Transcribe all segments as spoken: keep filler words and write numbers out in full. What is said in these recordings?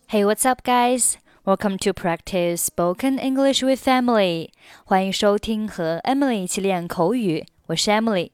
Hey, what's up, guys? Welcome to practice spoken English with Emily. 欢迎收听和 Emily 一起练口语，我是 Emily。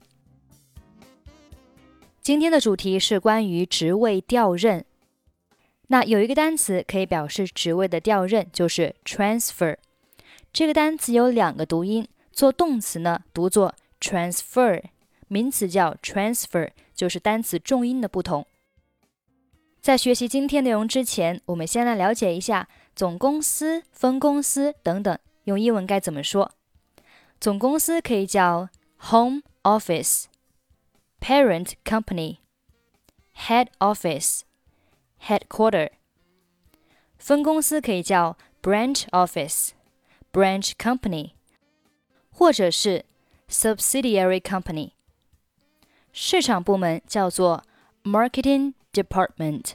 今天的主题是关于职位调任。那有一个单词可以表示职位的调任，就是 transfer。这个单词有两个读音，做动词呢读作 transfer， 名词叫 transfer， 就是单词重音的不同。在学习今天内容之前，我们先来了解一下总公司、分公司等等用英文该怎么说。总公司可以叫 home office, parent company, head office, headquarter。分公司可以叫 branch office, branch company， 或者是 subsidiary company。市场部门叫做 marketing department。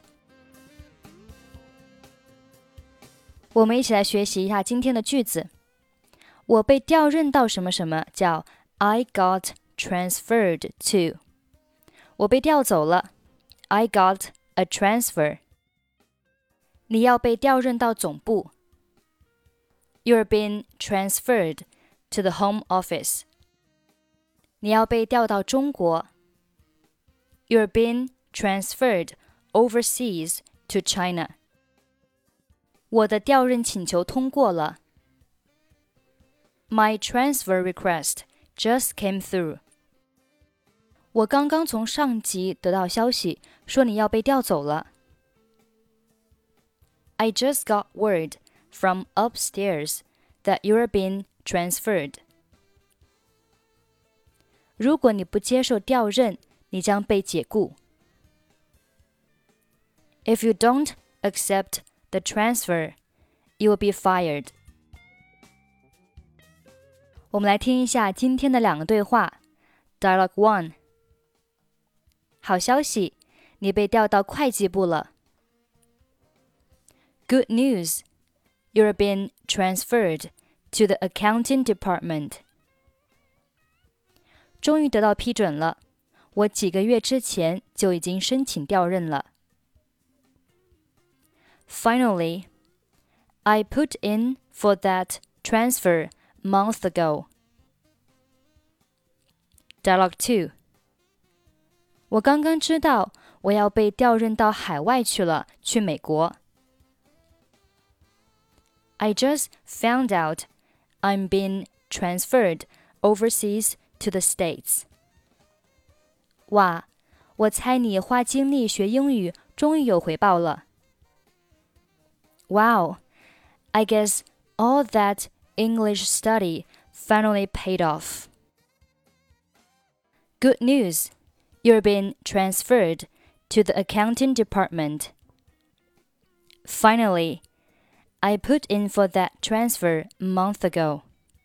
我们一起来学习一下今天的句子。我被调任到什么什么叫 I got transferred to。 我被调走了 I got a transfer。 你要被调任到总部 You're being transferred to the home office。 你要被调到中国 You're being transferred overseas to China。 我的调任请求通过了 My transfer request just came through。 我刚刚从上级得到消息，说你要被调走了 I just got word from upstairs that you're being transferred。 如果你不接受调任，你将被解雇If you don't accept the transfer, you will be fired. 我们来听一下今天的两个对话。Dialogue one。 好消息，你被调到会计部了。Good news, you're being transferred to the accounting department. 终于得到批准了，我几个月之前就已经申请调任了。Finally, I put in for that transfer a month ago. Dialogue two. 我刚刚知道我要被调任到海外去了，去美国。I just found out I'm being transferred overseas to the States. 哇，我猜你花精力学英语，终于有回报了。Wow, I guess all that English study finally paid off. Good news, you're being transferred to the accounting department. Finally, I put in for that transfer a month ago.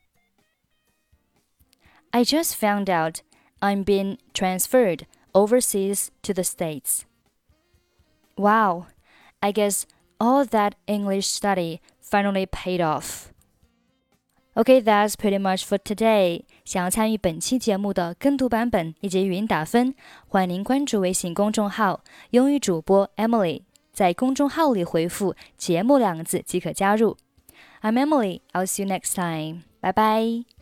I just found out I'm being transferred overseas to the States. Wow, I guess all that English study finally paid off. Okay, that's pretty much for today. 想要参与本期节目的跟读版本以及语音打分，欢迎您关注微信公众号英语主播 Emily， 在公众号里回复节目两个字即可加入。I'm Emily, I'll see you next time. Bye bye.